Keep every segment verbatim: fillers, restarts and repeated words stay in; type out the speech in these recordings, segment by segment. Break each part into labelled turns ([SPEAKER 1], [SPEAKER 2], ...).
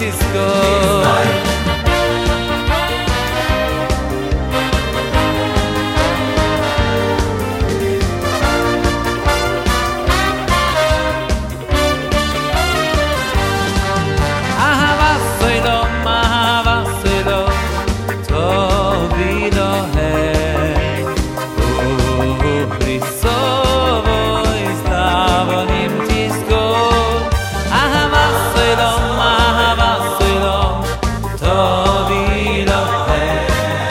[SPEAKER 1] תזכור. אהבה סוילום, אהבה סוילום, טובי לוהם, ובלי סובוי סלבונים תזכור. אהבה סוילום, אהבה סוילום, טובי לוהם,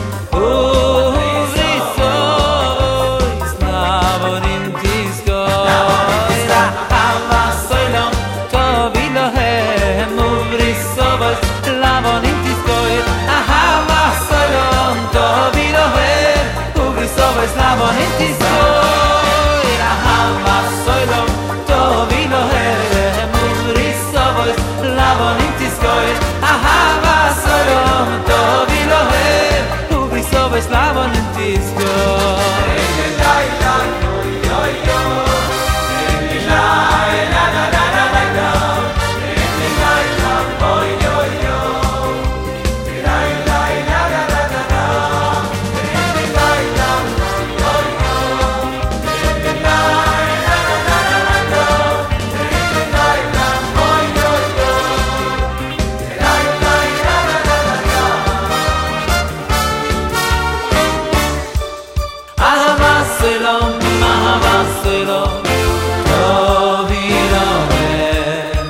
[SPEAKER 1] ובלי סובוי סלבונים תזכור. אהבה סוילום, טובי לוהם, ובלי סובוי סלבונים תזכור. אהבה סוילום, טובי לוהם, ובלי סובוי סלבונים תזכור. אהבה סוילום, טובי לוהם, ובלי סובוי סלבונים תזכור. אהבה סוילום, טובי לוהם, ובלי סובוי סלבונים תזכור. אהבה סוילום, אהבה סוילום, טובי לוהם,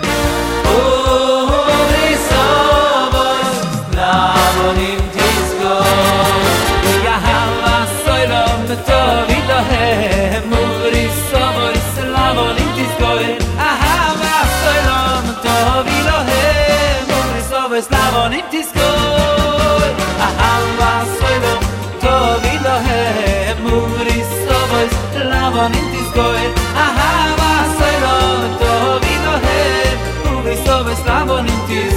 [SPEAKER 1] ובלי סובוי סלבונים תזכור. אהבה סוילום, טובי לוהם, ובלי סובוי סלבונים תזכור. אהבה סוילום, טובי לוהם, ובלי סובוי סלבונים תזכור. אהבה סוילום, טובי לוהם, ובלי סובוי סלבונים תזכור. אהבה סוילום, טובי לוהם, ובלי סובוי סלבונים תזכור.